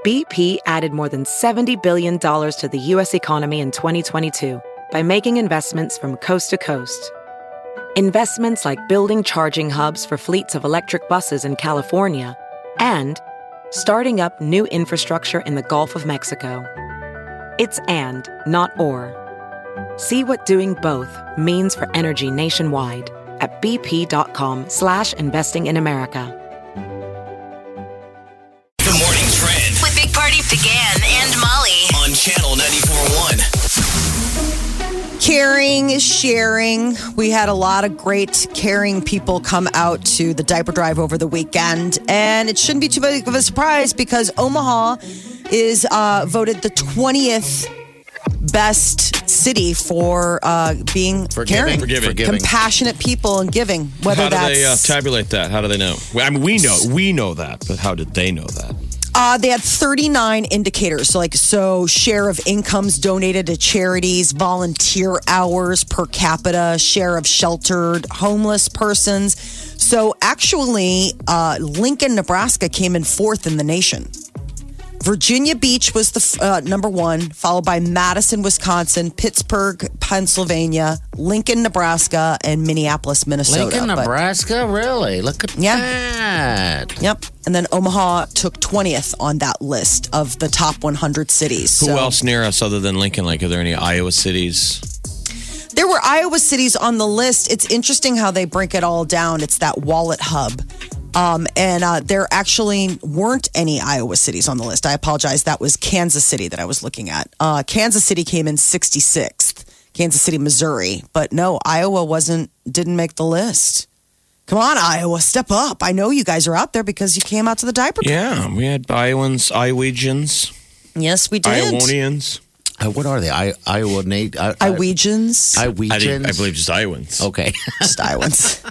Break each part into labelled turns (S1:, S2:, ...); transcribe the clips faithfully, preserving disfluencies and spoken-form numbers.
S1: B P added more than seventy billion dollars to the U S economy in twenty twenty-two by making investments from coast to coast. Investments like building charging hubs for fleets of electric buses in California and starting up new infrastructure in the Gulf of Mexico. It's and, not or. See what doing both means for energy nationwide at bp.com slash investing in America.
S2: The Morning Trend
S3: with Big Party began and Molly
S2: on Channel ninety-four point one.
S4: Caring is sharing. We had a lot of great caring people come out to the diaper drive over the weekend. And it shouldn't be too big of a surprise because Omaha is uh, voted the twentieth best city for uh, being caring,
S5: Forgiving. Forgiving.
S4: compassionate people and giving. Whether
S5: how do
S4: that's
S5: they uh, tabulate that? How do they know? I mean, we know we know that, but how did they know that?
S4: Uh, they had thirty-nine indicators. So, like, so share of incomes donated to charities, volunteer hours per capita, share of sheltered homeless persons. So, actually, uh, Lincoln, Nebraska came in fourth in the nation. Virginia Beach was the uh, number one, followed by Madison, Wisconsin, Pittsburgh, Pennsylvania, Lincoln, Nebraska, and Minneapolis, Minnesota.
S6: Lincoln,
S4: But-
S6: Nebraska? Really? Look at
S4: Yeah.
S6: that.
S4: Yep. And then Omaha took twentieth on that list of the top one hundred cities.
S5: Who
S4: So
S5: else near us other than Lincoln? Like, are there any Iowa cities?
S4: there were Iowa cities on the list. It's interesting how they break it all down. It's that wallet hub. Um, and uh, there actually weren't any Iowa cities on the list. I apologize. That was Kansas City that I was looking at. Uh, Kansas City came in sixty-sixth. Kansas City, Missouri. But no, Iowa wasn't, didn't make the list. Come on, Iowa, step up. I know you guys are out there because you came out to the diaper drive.
S5: Yeah, we had Iowans, Iowegians,
S4: Yes, we did.
S5: Iowonians.
S6: Uh, what are they? I, Iowa, Nate? I, I,
S4: Iowans.
S5: I, think,
S6: Iowans?
S5: I believe just Iowans.
S6: Okay.
S4: Just Iowans.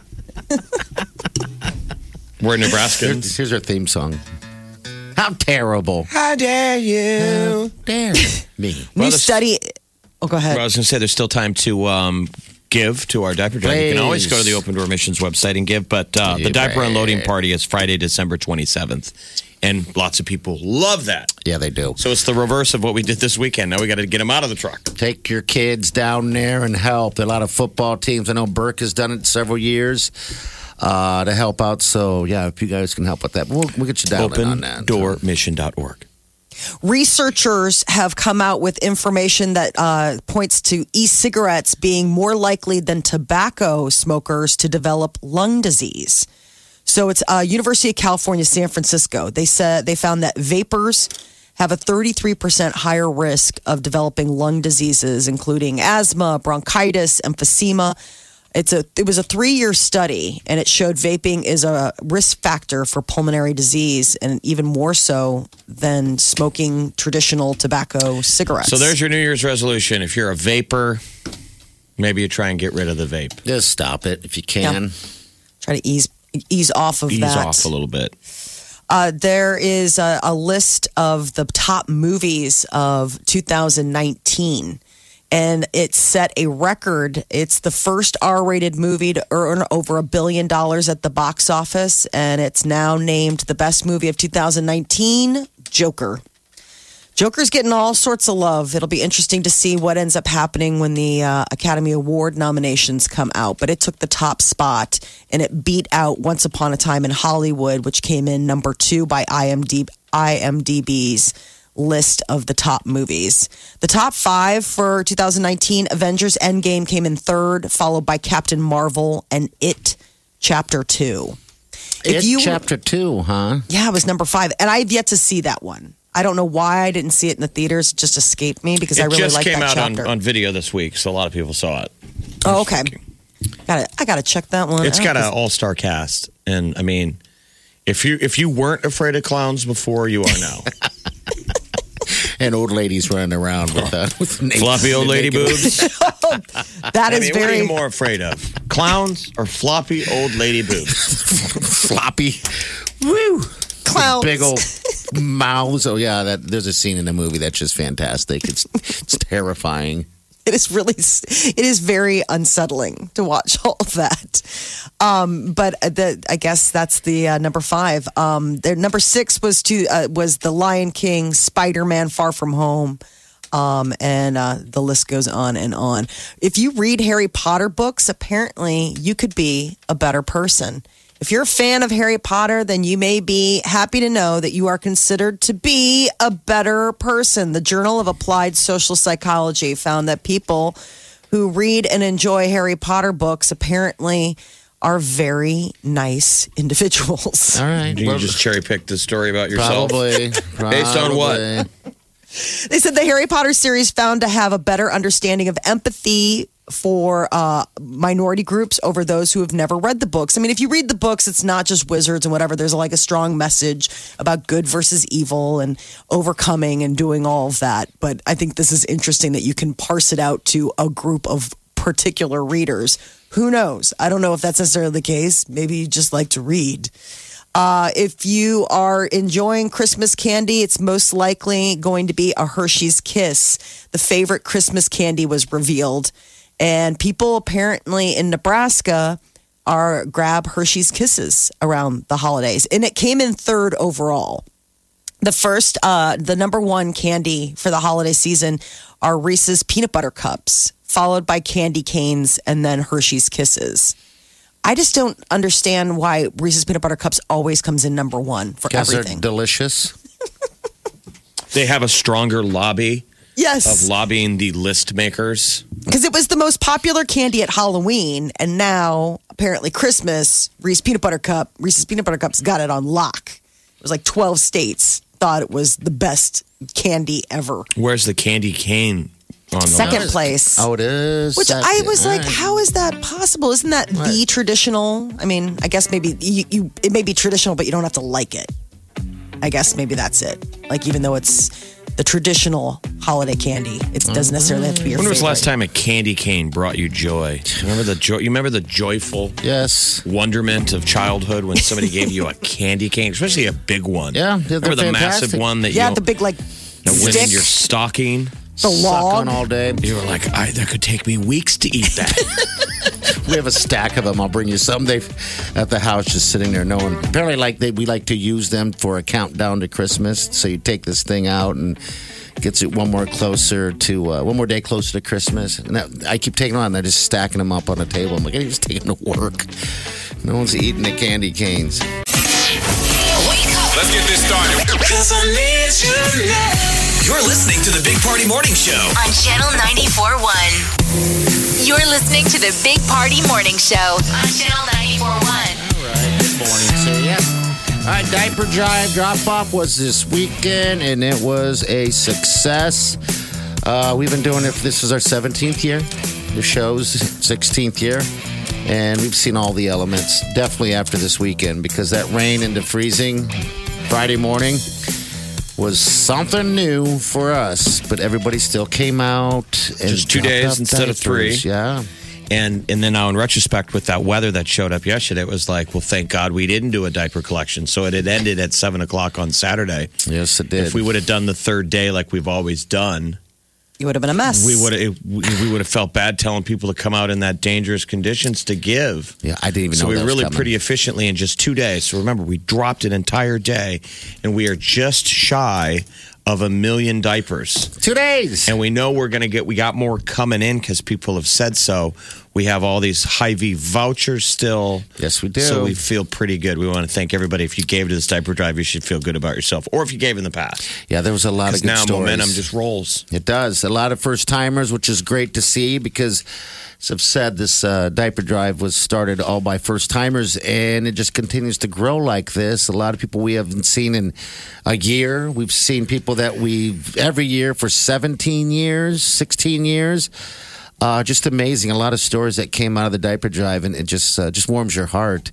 S5: We're
S6: Here's,
S5: Nebraskans.
S6: here's our theme song. How terrible.
S5: How dare you?
S6: How dare me.
S4: New
S5: the-
S4: study. Oh, go ahead.
S5: Well, I was going to say there's still time to um, give to our diaper drive. You can always
S6: Please.
S5: go to the Open Door Missions website and give, but uh, the diaper
S6: Please.
S5: unloading party is Friday, December twenty-seventh. And lots of people love that.
S6: Yeah, they do.
S5: So it's the reverse of what we did this weekend. Now we got to get them out of the truck.
S6: Take your kids down there and help. There are a lot of football teams. I know Burke has done it several years uh, to help out. So, yeah, if you guys can help with that, we'll, we'll get you down in on that.
S5: open door mission dot org.
S4: Researchers have come out with information that uh, points to e-cigarettes being more likely than tobacco smokers to develop lung disease. So it's uh, University of California, San Francisco. They said they found that vapors have a thirty-three percent higher risk of developing lung diseases, including asthma, bronchitis, emphysema. It's a it was a three-year study, and it showed vaping is a risk factor for pulmonary disease, and even more so than smoking traditional tobacco cigarettes.
S5: So there's your New Year's resolution. If you're a vapor, maybe you try and get rid of the vape.
S6: Just stop it if you can.
S4: Try to ease ease off of
S5: Ease
S4: that.
S5: off a little bit.
S4: Uh, there is a, a list of the top movies of two thousand nineteen. And it set a record. It's the first R-rated movie to earn over a billion dollars at the box office. And it's now named the best movie of two thousand nineteen, Joker. Joker's getting all sorts of love. It'll be interesting to see what ends up happening when the uh, Academy Award nominations come out. But it took the top spot, and it beat out Once Upon a Time in Hollywood, which came in number two by I M D B's list of the top movies. The top five for two thousand nineteen, Avengers Endgame came in third, followed by Captain Marvel and It Chapter two.
S6: It's Chapter two, huh?
S4: Yeah, it was number five. And I've yet to see that one. I don't know why I didn't see it in the theaters. It just escaped me because
S5: it
S4: I really
S5: just
S4: like
S5: came
S4: that
S5: out on,
S4: chapter.
S5: on video this week, so a lot of people saw it.
S4: Oh, okay. Got it. I got to check that one
S5: It's
S4: out.
S5: got an all-star cast, and I mean, if you if you weren't afraid of clowns before, you are now.
S6: And old ladies running around with, uh, with naked-
S5: Floppy old lady
S6: naked-
S5: boobs.
S4: That
S5: I
S4: is
S5: mean, what are
S4: very.
S5: you more afraid of, clowns or floppy old lady boobs?
S6: Floppy. Woo.
S4: Clowns.
S6: Big old mouths. Oh, yeah. That, there's a scene in the movie that's just fantastic. It's, it's terrifying.
S4: It is really, it is very unsettling to watch all of that. Um, but the, I guess that's the uh, number five. Um, their number six was to uh, was The Lion King, Spider-Man: Far From Home. Um, and uh, the list goes on and on. If you read Harry Potter books, apparently you could be a better person. If you're a fan of Harry Potter, then you may be happy to know that you are considered to be a better person. The Journal of Applied Social Psychology found that people who read and enjoy Harry Potter books apparently are very nice individuals.
S6: All right.
S5: You
S6: well,
S5: just cherry pick the story about yourself.
S6: Probably.
S5: Based on what?
S4: They said the Harry Potter series found to have a better understanding of empathy for uh, minority groups over those who have never read the books. I mean, if you read the books, it's not just wizards and whatever. There's like a strong message about good versus evil and overcoming and doing all of that. But I think this is interesting that you can parse it out to a group of particular readers. Who knows? I don't know if that's necessarily the case. Maybe you just like to read. Uh, if you are enjoying Christmas candy, it's most likely going to be a Hershey's Kiss. The favorite Christmas candy was revealed. And people apparently in Nebraska are grab Hershey's Kisses around the holidays. And it came in third overall. The first, uh, the number one candy for the holiday season are Reese's Peanut Butter Cups, followed by candy canes and then Hershey's Kisses. I just don't understand why Reese's Peanut Butter Cups always comes in number one for
S6: Guess
S4: everything.
S6: They're delicious.
S5: They have a stronger lobby
S4: Yes.
S5: of lobbying the list makers.
S4: Because it was the most popular candy at Halloween, and now apparently Christmas, Reese's Peanut Butter Cup, Reese's Peanut Butter Cups got it on lock. It was like twelve states thought it was the best candy ever.
S5: Where's the candy cane on the
S4: Second
S5: list?
S4: place.
S6: Oh, it is.
S4: Which I
S6: Second.
S4: was like,
S6: All right.
S4: how is that possible? Isn't that the
S6: Right.
S4: traditional? I mean, I guess maybe you, you it may be traditional, but you don't have to like it. I guess maybe that's it. Like, even though it's the traditional holiday candy, it doesn't necessarily have to be your
S5: When was the last
S4: favorite.
S5: time a candy cane brought you joy? Remember the joy? You remember the joyful
S6: Yes.
S5: wonderment of childhood when somebody gave you a candy cane, especially a big one.
S6: Yeah, they're
S5: remember the
S6: fantastic.
S5: massive one that
S4: Yeah,
S5: you
S4: the big like
S5: that went in
S4: stick,
S5: your stocking.
S4: the
S6: Suck
S4: log.
S6: on all day.
S5: You were like, I, that could take me weeks to eat that.
S6: We have a stack of them. I'll bring you some. They've at the house, just sitting there, knowing. Apparently, like they, we like to use them for a countdown to Christmas. So you take this thing out and gets it one more closer to uh, one more day closer to Christmas. And that, I keep taking them on. They're just stacking them up on the table. I'm like, I just take them to work. No one's eating the candy canes.
S2: Wake up.
S7: Let's get this started.
S2: You're listening to the Big Party Morning Show.
S3: On Channel ninety-four point one. You're listening to the Big Party Morning Show on Channel ninety-four point one.
S6: All right, good morning, so yeah. All right, diaper drive drop off was this weekend, and it was a success. Uh, we've been doing it. This is our seventeenth year. The show's sixteenth year, and we've seen all the elements. Definitely after this weekend, because that rain into freezing Friday morning was something new for us. But everybody still came out. And
S5: Just two
S6: dropped
S5: days
S6: off
S5: instead of three.
S6: diapers. Yeah.
S5: And and then now in retrospect, with that weather that showed up yesterday, it was like, well, thank God we didn't do a diaper collection. So it had ended at seven o'clock on Saturday.
S6: Yes, it did.
S5: If we would have done the third day like we've always done,
S4: You would have been a mess.
S5: we would have we would have felt bad telling people to come out in that dangerous conditions to give.
S6: Yeah, I didn't even
S5: So
S6: know
S5: we
S6: that was
S5: really
S6: coming.
S5: pretty efficiently in just two days. So remember, we dropped an entire day, and we are just shy of a million diapers.
S6: Two days.
S5: And we know we're going to get, we got more coming in because people have said so. We have all these Hy-Vee vouchers still.
S6: Yes, we do.
S5: So we feel pretty good. We want to thank everybody. If you gave to this diaper drive, you should feel good about yourself. Or if you gave in the past.
S6: Yeah, there was a lot of
S5: Because
S6: good
S5: now
S6: stories.
S5: momentum just rolls.
S6: It does. A lot of first timers, which is great to see because, as I've said, this uh, diaper drive was started all by first timers and it just continues to grow like this. A lot of people we haven't seen in a year. We've seen people that we've every year for seventeen years, sixteen years. Uh, just amazing. A lot of stories that came out of the diaper drive and it just uh, just warms your heart.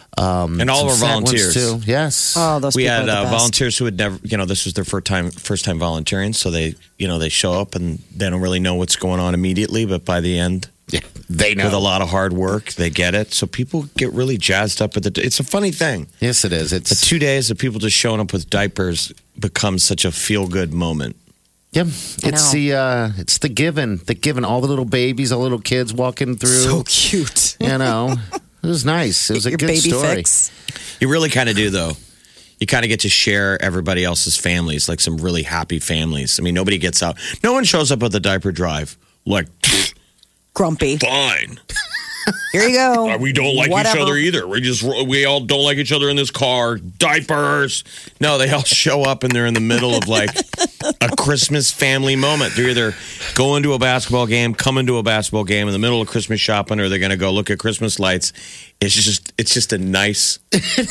S6: Um,
S5: And all of
S6: some
S5: our
S6: sad ones,
S5: volunteers.
S6: too. Yes.
S4: Oh, those
S5: We
S4: people
S5: had
S4: are the
S5: uh,
S4: best.
S5: volunteers who had never, you know, this was their first time, first time volunteering. So they, you know, they show up and they don't really know what's going on immediately. But by the end,
S6: Yeah, they know.
S5: with a lot of hard work, they get it. So people get really jazzed up with it. It's a funny thing.
S6: Yes, it is.
S5: The
S6: It's
S5: two days of people just showing up with diapers becomes such a feel good moment.
S6: Yeah, it's the uh, it's the giving, the giving. All the little babies, all the little kids walking through.
S4: So cute.
S6: You know, it was nice. It was a
S4: Your
S6: good
S4: baby
S6: story.
S4: fix.
S5: You really kind of do, though. You kind of get to share everybody else's families, like some really happy families. I mean, nobody gets out. No one shows up at the diaper drive like,
S4: Grumpy.
S5: fine.
S4: Here you go.
S5: We don't like
S4: Whatever.
S5: each other either. We just we all don't like each other in this car. Diapers. No, they all show up and they're in the middle of like a Christmas family moment. They're either going to a basketball game, coming to a basketball game in the middle of Christmas shopping, or they're going to go look at Christmas lights. It's just it's just a nice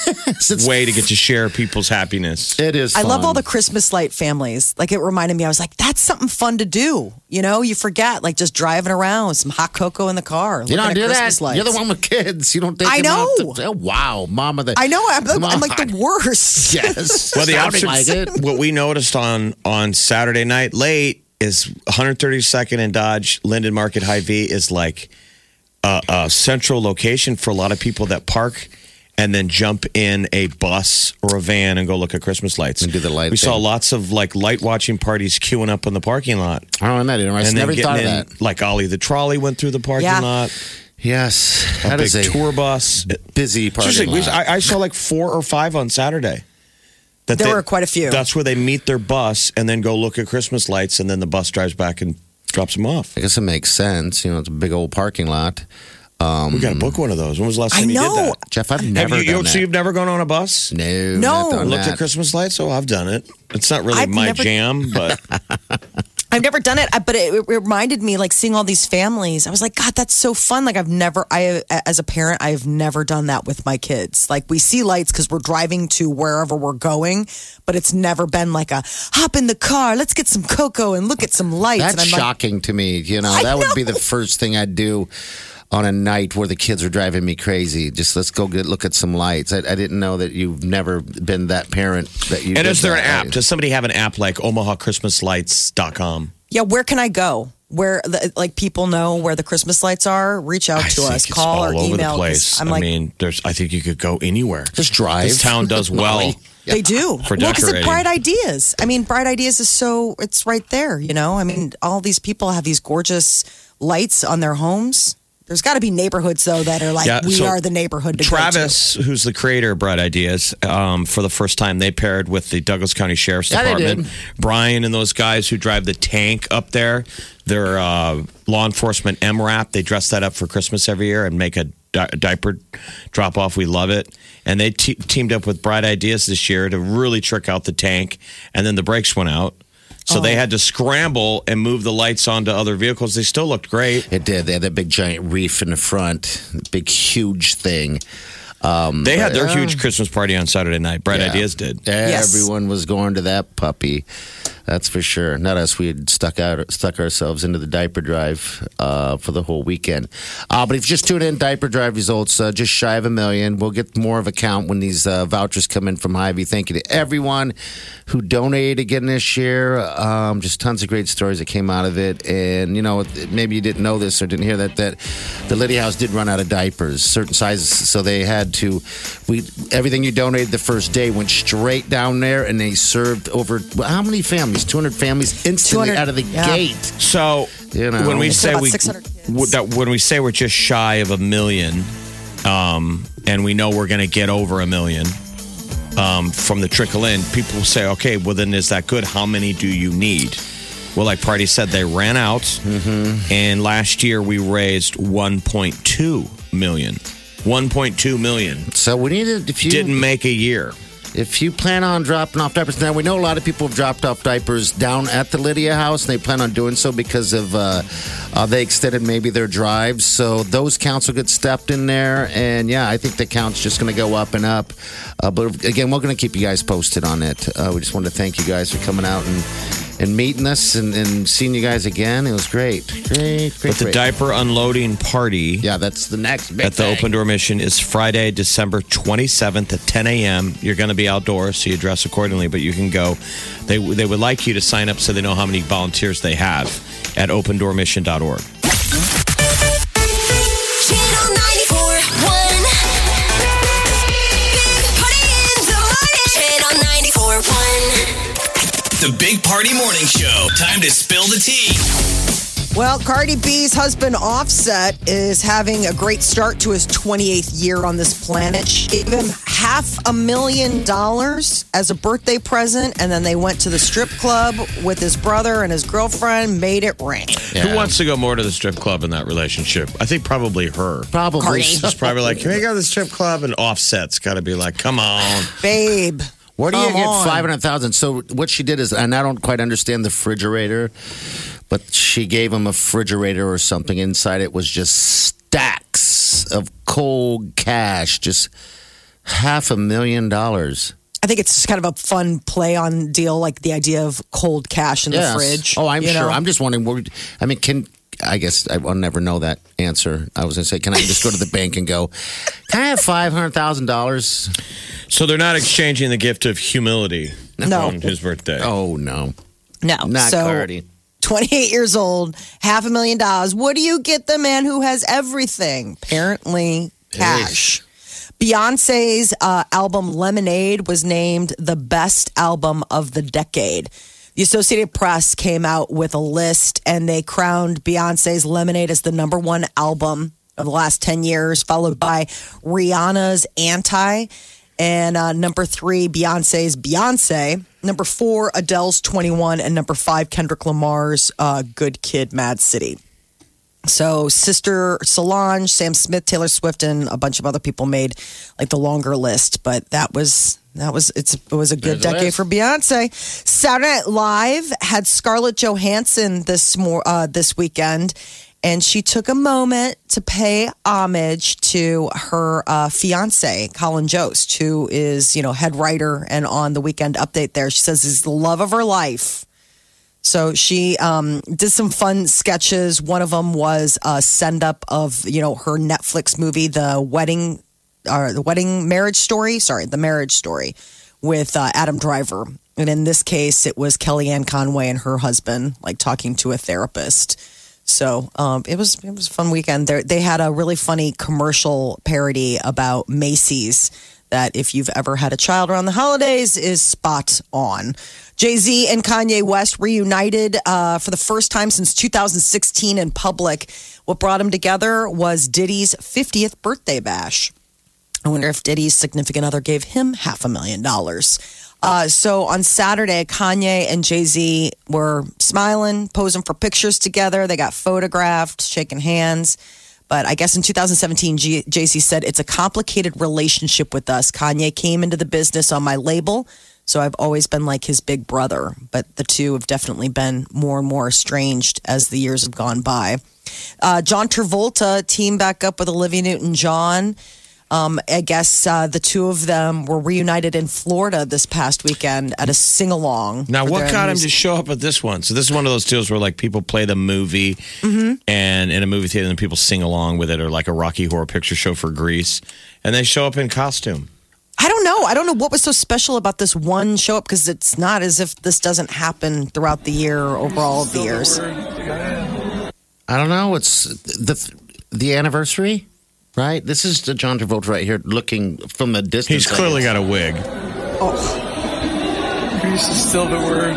S5: way to get to share people's happiness.
S6: It is.
S4: I love
S6: fun.
S4: all the Christmas light families. Like it reminded me, I was like, that's something fun to do. You know, you forget, like just driving around with some hot cocoa in the car.
S6: You
S4: looking
S6: don't
S4: at
S6: do
S4: Christmas
S6: that.
S4: lights.
S6: You're the one with kids. You don't take
S4: I
S6: them out
S4: know.
S6: to- oh, wow, mama. The,
S4: I know. I'm, I'm, I'm like
S6: Come
S4: the worst.
S6: Yes.
S5: Well, the
S6: Sounding
S5: opposite,
S6: like it.
S5: what we noticed on on Saturday night late is one thirty-second and Dodge Linden Market Hy-Vee is like a, a central location for a lot of people that park and then jump in a bus or a van and go look at Christmas lights.
S6: And do the light
S5: We saw
S6: thing.
S5: lots of like light watching parties queuing up in the parking lot.
S6: Oh, isn't that interesting?
S5: And then
S6: Never
S5: getting
S6: thought of
S5: in,
S6: that.
S5: like Ollie the Trolley went through the parking
S4: Yeah.
S5: lot.
S6: Yes,
S5: A
S6: that
S5: big
S6: is a
S5: tour bus.
S6: busy parking
S5: Seriously, we-
S6: lot.
S5: I, I saw like four or five on Saturday. That
S4: There were quite a few.
S5: That's where they meet their bus and then go look at Christmas lights, and then the bus drives back and drops them off.
S6: I guess it makes sense. You know, it's a big old parking lot. Um,
S5: We got to book one of those. When was the last
S4: I
S5: time you
S4: know.
S5: did that?
S6: Jeff, I've
S5: Have
S6: never
S5: you, you
S6: done
S5: so
S6: that.
S5: you've never gone on a bus?
S6: No,
S4: No.
S6: not done
S5: Looked
S6: that.
S5: at Christmas lights? Oh, I've done it. It's not really
S4: I've
S5: my
S4: never-
S5: jam, but
S4: I've never done it, I- but it, it reminded me, like seeing all these families. I was like, God, that's so fun. Like I've never, I as a parent, I've never done that with my kids. Like we see lights because we're driving to wherever we're going, but it's never been like a hop in the car, let's get some cocoa and look at some lights.
S6: That's
S4: and I'm like,
S6: shocking to me. You know,
S4: I
S6: that would be
S4: know.
S6: the first thing I'd do on a night where the kids are driving me crazy. Just let's go get look at some lights. I, I didn't know that you've never been that parent that you.
S5: and
S6: did
S5: is there an
S6: that.
S5: app? Does somebody have an app like Omaha Christmas Lights dot com?
S4: yeah, where can I go? Where the, like people know where the Christmas lights are? Reach out
S5: I
S4: to
S5: think
S4: us,
S5: it's
S4: call
S5: all
S4: or
S5: over
S4: email.
S5: the
S4: 'cause
S5: place.
S4: I'm
S5: I
S4: like,
S5: mean, there's. I think you could go anywhere.
S6: Just drive.
S5: This town does well.
S6: Molly.
S4: They do.
S5: For
S4: well, because
S5: decorating.
S4: it's Bright Ideas. I mean, Bright Ideas is so, it's right there, you know? I mean, all these people have these gorgeous lights on their homes. There's got to be neighborhoods, though, that are like,
S5: Yeah,
S4: we
S5: so
S4: are the neighborhood to
S5: Travis, who's the creator of Bright Ideas, um, for the first time, they paired with the Douglas County Sheriff's
S6: Yeah, they
S5: Department.
S6: did.
S5: Brian and those guys who drive the tank up there, their uh, law enforcement M RAP, they dress that up for Christmas every year and make a, di- diaper drop off. We love it. And they te- teamed up with Bright Ideas this year to really trick out the tank. And then the brakes went out. So they had to scramble and move the lights onto other vehicles. They still looked great.
S6: It did. They had that big giant reef in the front, big huge thing. Um,
S5: They had
S6: but,
S5: their
S6: uh,
S5: huge Christmas party on Saturday night. Bright
S6: yeah.
S5: Ideas did.
S4: Yes.
S6: Everyone was going to that puppy. That's for sure. Not us. We had stuck out, stuck ourselves into the diaper drive uh, for the whole weekend. Uh, but if you just tune in, diaper drive results uh, just shy of a million. We'll get more of a count when these uh, vouchers come in from Hy-Vee. Thank you to everyone who donated again this year. Um, just tons of great stories that came out of it. And you know, maybe you didn't know this or didn't hear that that the Lydia House did run out of diapers, certain sizes, so they had to. We everything you donated the first day went straight down there, and they served over how many families? two hundred families instantly
S4: two hundred,
S6: out of the
S4: yeah.
S6: gate.
S5: So
S6: You know.
S5: when we
S6: It's
S5: say
S4: about
S5: we
S4: six hundred kids.
S5: w- that when we say we're just shy of a million, um, and we know we're going to get over a million um, from the trickle in, people will say, "Okay, well then is that good? How many do you need?" Well, like Party said, they ran out,
S6: Mm-hmm.
S5: and last year we raised one point two million. one point two million.
S6: So we needed if you
S5: Didn't make a year.
S6: If you plan on dropping off diapers, now we know a lot of people have dropped off diapers down at the Lydia House, and they plan on doing so because of uh, uh, they extended maybe their drives. So those counts will get stepped in there, and yeah, I think the count's just going to go up and up. Uh, but again, we're going to keep you guys posted on it. Uh, we just wanted to thank you guys for coming out and and meeting us and, and seeing you guys again. It was great, great, great.
S5: But the
S6: great.
S5: diaper unloading party
S6: yeah, that's the next big
S5: at the
S6: thing.
S5: Open Door Mission is Friday, December twenty-seventh at ten a.m. You're going to be outdoors, so you dress accordingly, but you can go. They, they would like you to sign up so they know how many volunteers they have at open door mission dot org.
S3: Channel ninety-four one. Big Party in the morning. Channel ninety-four one.
S2: The Big Party Morning Show. Time to spill the tea.
S4: Well, Cardi B's husband Offset is having a great start to his twenty-eighth year on this planet. She gave him half a million dollars as a birthday present, and then they went to the strip club with his brother and his girlfriend, made it rain.
S6: Yeah.
S5: Who wants to go more to the strip club in that relationship? I think probably her.
S6: Probably.
S4: Cardi.
S5: She's probably like, can we go to the strip club? And Offset's got to be like, come on.
S4: Babe.
S6: Where do you
S4: Come
S6: get
S4: on.
S6: five hundred thousand? So what she did is, and I don't quite understand the refrigerator, but she gave him a refrigerator or something. Inside it was just stacks of cold cash, just half a million dollars.
S4: I think it's just kind of a fun play on deal, like the idea of cold cash in
S6: Yes.
S4: the fridge.
S6: Oh, I'm
S4: you
S6: sure.
S4: know?
S6: I'm just wondering. Where, I mean, can I guess I will never know that answer. I was going to say, can I just go to the bank and go, can I have five hundred thousand dollars?
S5: So they're not exchanging the gift of humility
S4: No.
S5: on his birthday.
S6: Oh no,
S4: No.
S6: not
S4: so,
S6: Cardi.
S4: twenty-eight years old, half a million dollars. What do you get the man who has everything? Apparently, cash. Beyonce's uh, album Lemonade was named the best album of the decade. The Associated Press came out with a list and they crowned Beyonce's Lemonade as the number one album of the last ten years, followed by Rihanna's Anti. And uh, number three, Beyonce's Beyonce. Number four, Adele's twenty-one. And number five, Kendrick Lamar's uh, Good Kid, Mad City. So Sister Solange, Sam Smith, Taylor Swift, and a bunch of other people made like the longer list. But that was that was it's it was a good
S6: There's a
S4: decade
S6: list.
S4: for Beyonce. Saturday Night Live had Scarlett Johansson this more uh, this weekend. And she took a moment to pay homage to her uh, fiance, Colin Jost, who is, you know, head writer and on the Weekend Update there. She says he's the love of her life. So she um, did some fun sketches. One of them was a send up of, you know, her Netflix movie, The Wedding, or The Wedding Marriage Story. Sorry, The Marriage Story with uh, Adam Driver. And in this case, it was Kellyanne Conway and her husband, like talking to a therapist. So um, it was it was a fun weekend. They they had a really funny commercial parody about Macy's that if you've ever had a child around the holidays is spot on. Jay-Z and Kanye West reunited uh, for the first time since two thousand sixteen in public. What brought them together was Diddy's fiftieth birthday bash. I wonder if Diddy's significant other gave him half a million dollars. Uh, so on Saturday, Kanye and Jay-Z were smiling, posing for pictures together. They got photographed, shaking hands. But I guess in two thousand seventeen, G- Jay-Z said, it's a complicated relationship with us. Kanye came into the business on my label, so I've always been like his big brother. But the two have definitely been more and more estranged as the years have gone by. Uh, John Travolta teamed back up with Olivia Newton-John. Um, I guess uh, the two of them were reunited in Florida this past weekend at a sing-along.
S5: Now,
S4: for
S5: what
S4: their
S5: got him
S4: music-
S5: to show up at this one? So this is one of those deals where like people play the movie
S4: Mm-hmm.
S5: and in a movie theater and people sing along with it, or like a Rocky Horror Picture Show for Grease, and they show up in costume.
S4: I don't know. I don't know what was so special about this one show up because it's not as if this doesn't happen throughout the year or over all of the years.
S6: I don't know. It's the the anniversary, right? This is the John Travolta right here, looking from a distance.
S5: He's clearly got a wig.
S7: Grease is still the word.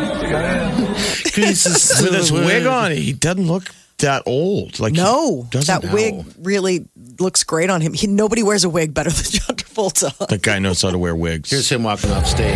S5: With his wig on, he doesn't look that old. Like
S4: No,
S5: he doesn't
S4: that
S5: know.
S4: wig really looks great on him. He, nobody wears a wig better than John Travolta.
S5: That guy knows how to wear wigs.
S6: Here's him walking off stage.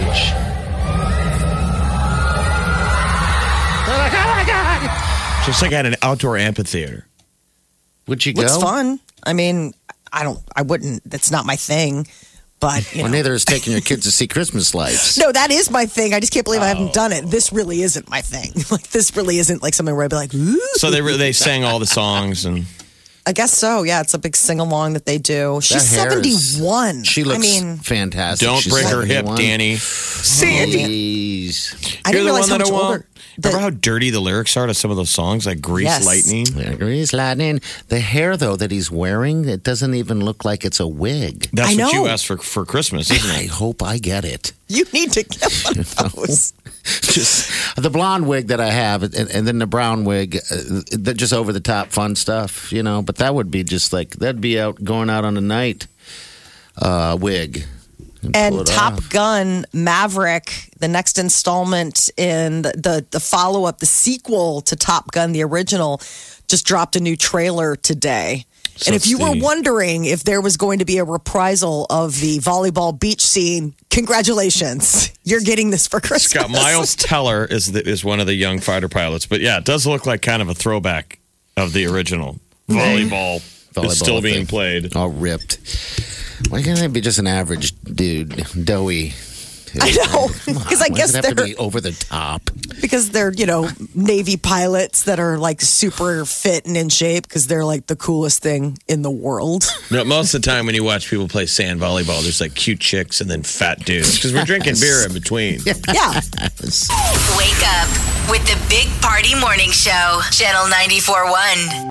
S6: They're like, oh my God!
S5: Just like at an outdoor amphitheater.
S6: Would you go?
S4: It's fun. I mean, I don't. I wouldn't. That's not my thing. But you
S6: Well,
S4: know.
S6: neither is taking your kids to see Christmas lights.
S4: No, that is my thing. I just can't believe I haven't done it. This really isn't my thing. Like this really isn't like something where I'd be like, ooh.
S5: So they re- they sang all the songs and
S4: I guess so. Yeah, it's a big sing along that they do. She's
S6: That hair is-
S4: seventy-one.
S6: She looks
S4: I mean,
S6: fantastic.
S5: don't
S6: She's
S5: break her hip,
S6: seventy-one.
S5: Danny.
S6: Please.
S4: I
S5: You're
S4: didn't
S5: the
S4: realize
S5: one
S4: how
S5: that
S4: much
S5: I want.
S4: older. the-
S5: Remember how dirty the lyrics are to some of those songs, like Grease
S4: Yes.
S5: Lightning?
S6: Yeah, Grease lightning. The hair, though, that he's wearing, it doesn't even look like it's a wig.
S5: That's
S4: I
S5: what you
S4: know.
S5: asked for for Christmas, isn't
S6: I
S5: it?
S6: hope I get it.
S4: You need to get one of those.
S6: Just the blonde wig that I have, and, and then the brown wig, uh, they're just over the top fun stuff, you know. But that would be just like that'd be out going out on a night uh, wig.
S4: And
S6: it
S4: Top
S6: off.
S4: Gun Maverick, the next installment in the, the, the follow up, the sequel to Top Gun, the original, just dropped a new trailer today.
S5: So
S4: and if you
S5: it's
S4: were
S5: the-
S4: wondering if there was going to be a reprisal of the volleyball beach scene, congratulations. You're getting this for Christmas.
S5: It's got Miles Teller is the, is one of the young fighter pilots. But yeah, it does look like kind of a throwback of the original. Volleyball,
S6: Volleyball
S5: is still being
S6: thing.
S5: played.
S6: All ripped. Why can't I be just an average dude, doughy?
S4: I know,
S6: Come on,
S4: because I
S6: why
S4: guess
S6: does it have to
S4: they're
S6: be over the top.
S4: because they're you know Navy pilots that are like super fit and in shape because they're like the coolest thing in the world.
S5: No, most of the time when you watch people play sand volleyball, there's like cute chicks and then fat dudes because we're drinking beer in between.
S4: Yeah,
S3: Wake up with the Big Party Morning Show, Channel ninety-four point one.